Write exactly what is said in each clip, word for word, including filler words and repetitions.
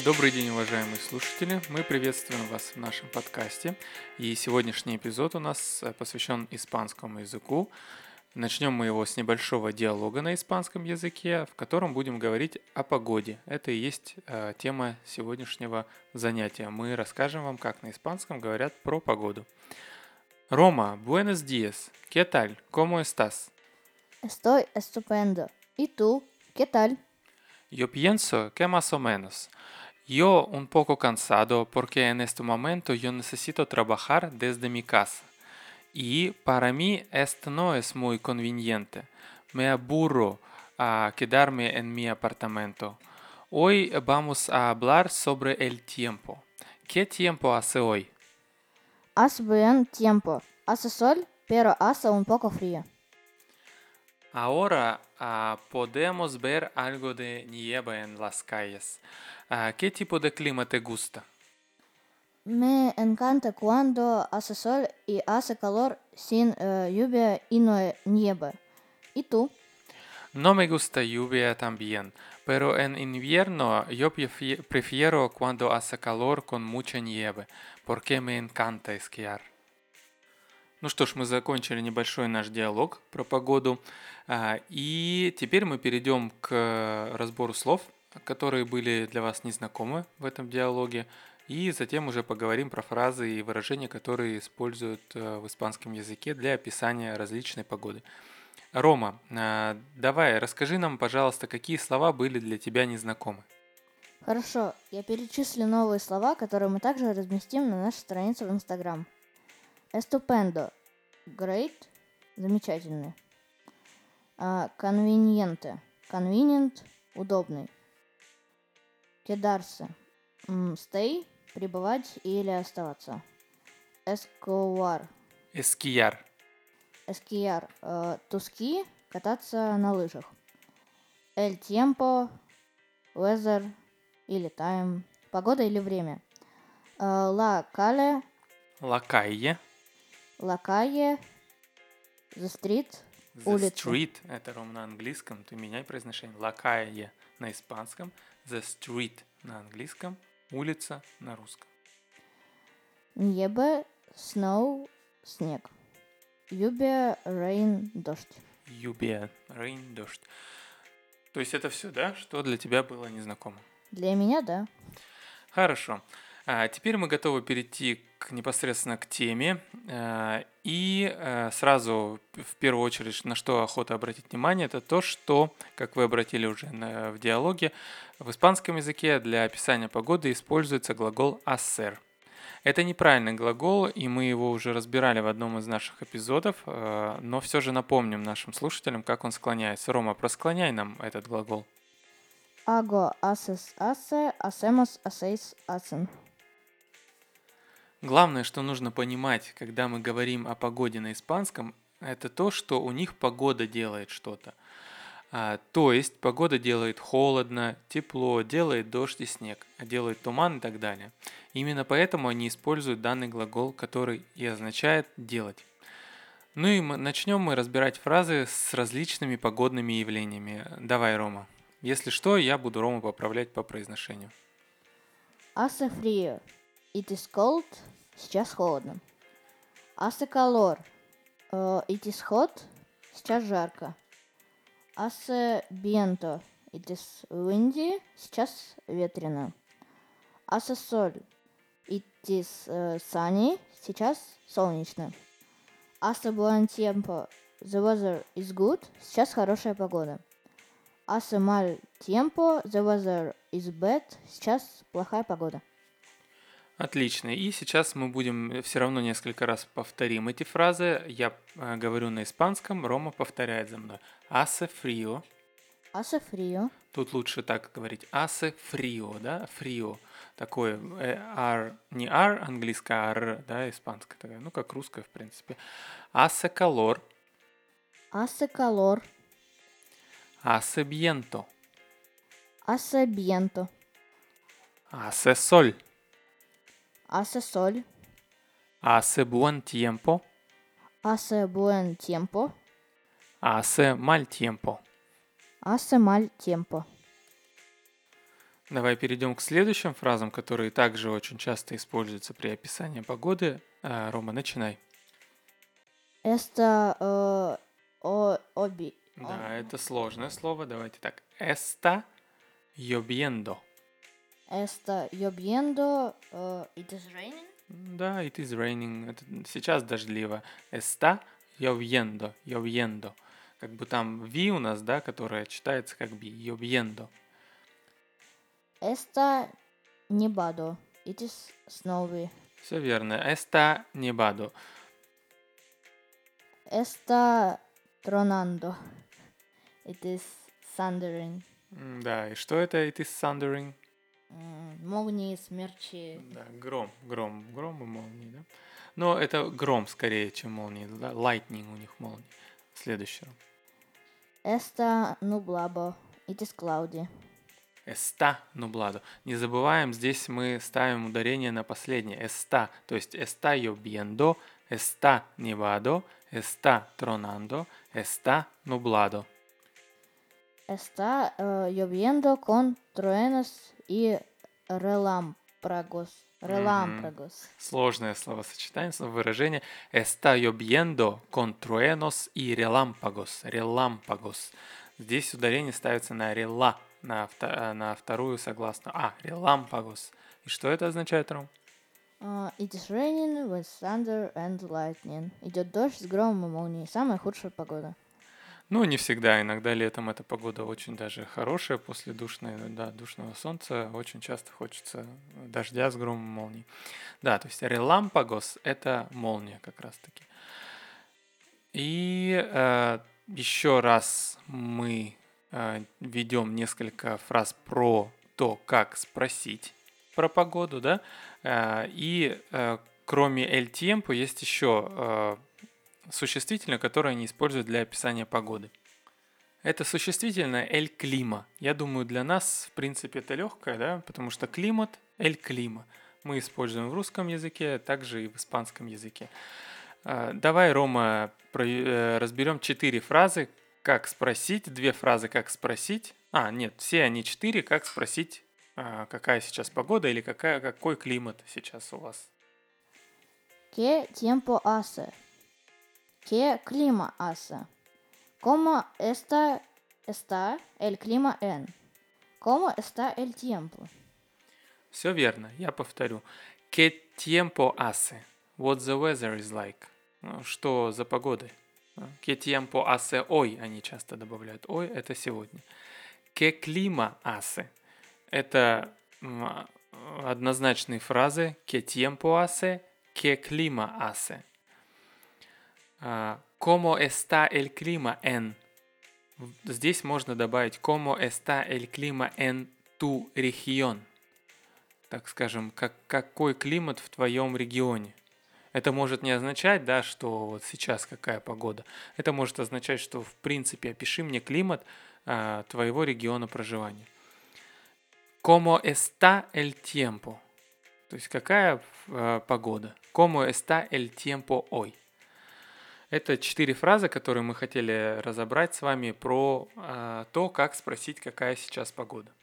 Добрый день, уважаемые слушатели! Мы приветствуем вас в нашем подкасте. И сегодняшний эпизод у нас э, посвящен испанскому языку. Начнем мы его с небольшого диалога на испанском языке, в котором будем говорить о погоде. Это и есть э, тема сегодняшнего занятия. Мы расскажем вам, как на испанском говорят про погоду. Рома, buenos días. ¿Qué tal? ¿Cómo estás? Estoy estupendo. ¿Y tú? ¿Qué tal? Yo pienso que más o menos. Yo un poco cansado porque en este momento yo necesito trabajar desde mi casa. Y para mí esto no es muy conveniente. Me aburro a quedarme en mi apartamento. Hoy vamos a hablar sobre el tiempo. ¿Qué tiempo hace hoy? Hace buen tiempo. Hace sol, pero hace un poco frío. Ahora ah, podemos ver algo de nieve en las calles. Ah, ¿qué tipo de clima te gusta? Me encanta cuando hace sol y hace calor sin eh, lluvia y no nieve. ¿Y tú? No me gusta lluvia también, pero en invierno yo prefi- prefiero cuando hace calor con mucha nieve, porque me encanta esquiar. Ну что ж, мы закончили небольшой наш диалог про погоду, а, и теперь мы перейдем к разбору слов, которые были для вас незнакомы в этом диалоге, и затем уже поговорим про фразы и выражения, которые используют э, в испанском языке для описания различной погоды. Рома, а, давай, расскажи нам, пожалуйста, какие слова были для тебя незнакомы. Хорошо, я перечислю новые слова, которые мы также разместим на нашей странице в Instagram. Estupendo. Great. Замечательный. А, Conveniente. Convenient. Удобный. Quedarse. М, Stay. Пребывать или оставаться. Escobar. Эскияр. Esquiar. э, To ski. Кататься на лыжах. El tiempo. Weather или time. Погода или время. Э, La calle. Лакайе. La calle. The street. The Улица. street, это, Ром, на английском, ты меняй произношение. Лакайе на испанском, the street на английском, улица на русском. Небо. Snow. Снег. Lluvia. Rain. Дождь. Lluvia, rain, дождь. То есть это все, да, что для тебя было незнакомо? Для меня, да. Хорошо. А теперь мы готовы перейти к, непосредственно к теме. А, И а, сразу, в первую очередь, на что охота обратить внимание, это то, что, как вы обратили уже на- в диалоге, в испанском языке для описания погоды используется глагол hacer. Это неправильный глагол, и мы его уже разбирали в одном из наших эпизодов, а, но все же напомним нашим слушателям, как он склоняется. Рома, просклоняй нам этот глагол. Hago. Haces. Hace. Hacemos. Hacéis. Hacen. Главное, что нужно понимать, когда мы говорим о погоде на испанском, это то, что у них погода делает что-то. А, то есть погода делает холодно, тепло, делает дождь и снег, а делает туман и так далее. Именно поэтому они используют данный глагол, который и означает «делать». Ну и мы, начнем мы разбирать фразы с различными погодными явлениями. Давай, Рома. Если что, я буду Рому поправлять по произношению. Hace frío. It is cold. Сейчас холодно. Hace calor. э, It is hot. Сейчас жарко. Hace viento. It is windy. Сейчас ветрено. Hace sol. It is э, sunny. Сейчас солнечно. Hace buen tiempo. The weather is good. Сейчас хорошая погода. Hace mal tiempo. The weather is bad. Сейчас плохая погода. Отлично. И сейчас мы будем все равно несколько раз повторим эти фразы. Я э, говорю на испанском, Рома повторяет за мной. Hace frío. Hace frío. Тут лучше так говорить. Hace frío, да? Frío. Такое э, R, не R английское, а R, да, испанское. Такое, ну, как русское, в принципе. Hace calor. Hace calor. Hace viento. Hace viento. Hace sol. Hace sol. Hace buen tiempo. Hace buen tiempo. Hace mal tiempo. Hace mal tiempo. Давай перейдем к следующим фразам, которые также очень часто используются при описании погоды. А, Рома, начинай. Está uh, o, obi, Да, это сложное слово. Давайте так. Está lloviendo. está lloviendo. Uh, it is raining. Да, it is raining. Это сейчас дождливо. Está lloviendo. Lloviendo. Как бы там ви у нас, да, которая читается как би. Lloviendo. Está nevado. It is snowy. Все верно. Está nevado. Está tronando. It is thundering. М, Да, и что это it is thundering? М, Молнии, смерчи. Да, гром, гром, гром и молнии, да? Но это гром скорее, чем молнии, да? Lightning у них молнии. Следующее. Está nublado. It is cloudy. Está nublado. Не забываем, здесь мы ставим ударение на последнее. Está, то есть está lloviendo, está nevado, está tronando, está nublado. Está uh, lloviendo con truenos y relámpagos. Relámpagos. Сложное словосочетание, выражение. Está lloviendo con truenos y relámpagos. Relámpagos. Здесь ударение ставится на рела, на, авто, на вторую согласную. А, relámpagos. И что это означает, Ром? Uh, it is raining with thunder and lightning. Идет дождь с громом и молнией. Самая худшая погода. Ну, не всегда. Иногда летом эта погода очень даже хорошая после душной, да, душного солнца. Очень часто хочется дождя с громом и молнией. Да, то есть relámpagos — это молния как раз-таки. И э, еще раз мы э, ведем несколько фраз про то, как спросить про погоду, да. Э, и э, кроме el tiempo есть еще э, существительное, которое они используют для описания погоды. Это существительное el clima. Я думаю, для нас, в принципе, это легкое, да, потому что климат — el clima. Мы используем в русском языке, а также и в испанском языке. Давай, Рома, разберем четыре фразы, как спросить, две фразы, как спросить. А, нет, все они четыре, как спросить, какая сейчас погода или какая, какой климат сейчас у вас. ¿Qué tiempo hace? ¿Qué clima hace? ¿Cómo está, está el clima en? ¿Cómo está el tiempo? Все верно, я повторю. ¿Qué tiempo hace? What the weather is like? Что за погода? ¿Qué tiempo hace hoy? Они часто добавляют. Ой, это сегодня. ¿Qué clima hace? Это однозначные фразы. ¿Qué tiempo hace? ¿Qué clima hace? ¿Cómo está el clima en? Здесь можно добавить ¿Cómo está el clima en tu región? Так скажем, как, какой климат в твоем регионе. Это может не означать, да, что вот сейчас какая погода. Это может означать, что в принципе опиши мне климат а, твоего региона проживания. ¿Cómo está el tiempo? То есть какая а, погода? ¿Cómo está el tiempo hoy? Это четыре фразы, которые мы хотели разобрать с вами про а, то, как спросить, какая сейчас погода.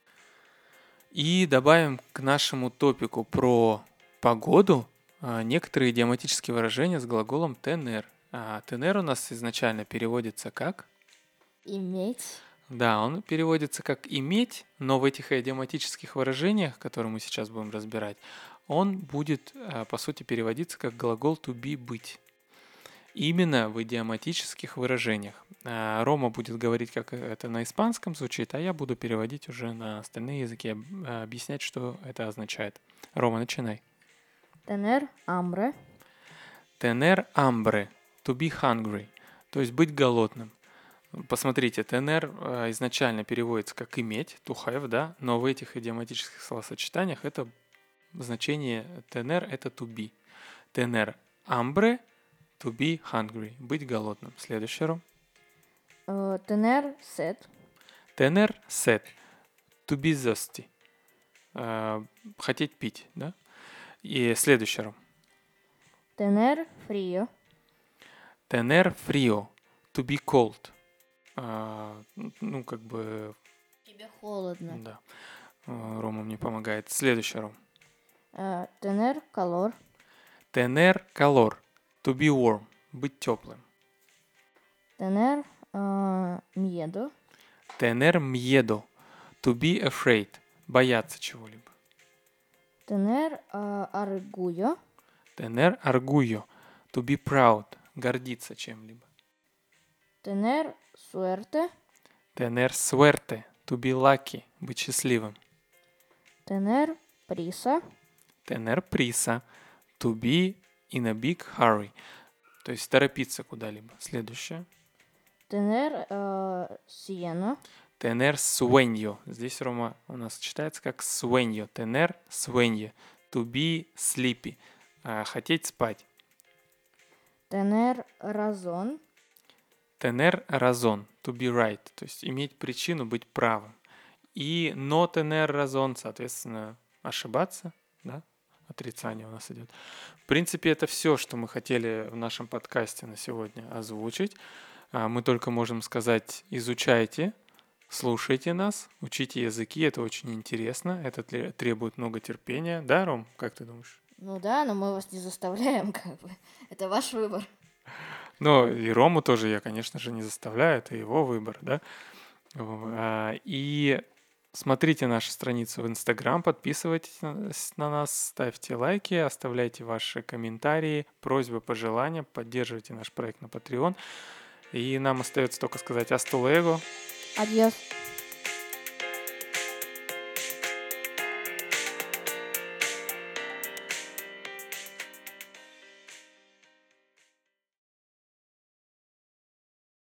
И добавим к нашему топику про погоду некоторые идиоматические выражения с глаголом tener. А tener у нас изначально переводится как? Иметь. Да, он переводится как иметь, но в этих идиоматических выражениях, которые мы сейчас будем разбирать, он будет, по сути, переводиться как глагол to be быть. Именно в идиоматических выражениях. Рома будет говорить, как это на испанском звучит, а я буду переводить уже на остальные языки, объяснять, что это означает. Рома, начинай. Tener hambre. Tener hambre. To be hungry. То есть быть голодным. Посмотрите, tener изначально переводится как иметь, to have, да, но в этих идиоматических словосочетаниях это значение tener это to be. Tener hambre. To be hungry. Быть голодным. Следующий, Ром. Uh, tener sed. Tener sed. To be thirsty. Uh, хотеть пить, да? И следующий, Ром. Tener frío. Tener frío. To be cold. Uh, ну, как бы... Тебе холодно. Да. Э, Рома мне помогает. Следующий, Ром. Э, Tener calor. Tener calor. To be warm. Быть теплым. Tener э, miedo. Tener miedo. To be afraid. Бояться чего-либо. Tener э, orgullo. Tener orgullo. To be proud. Гордиться чем-либо. Tener suerte. Tener suerte. To be lucky. Быть счастливым. Tener prisa. Tener prisa. To be in a big hurry. То есть торопиться куда-либо. Следующее. Tener э, cieno. Tener sueño. Здесь, Рома, у нас читается как sueño. Tener sueño. To be sleepy. А, хотеть спать. Tener razón. Tener razón. To be right. То есть иметь причину быть правым. И no tener razón, соответственно, ошибаться, да? Отрицание у нас идет. В принципе, это все, что мы хотели в нашем подкасте на сегодня озвучить. А, Мы только можем сказать, изучайте, слушайте нас, учите языки, это очень интересно, это тре- требует много терпения. Да, Ром, как ты думаешь? Ну да, но мы вас не заставляем, как бы. Это ваш выбор. Ну, и Рому тоже я, конечно же, не заставляю, это его выбор, да. В- а, И смотрите нашу страницу в Инстаграм, подписывайтесь на с- на нас, ставьте лайки, оставляйте ваши комментарии, просьбы, пожелания, поддерживайте наш проект на Patreon. И нам остается только сказать «Hasta luego». Адьос.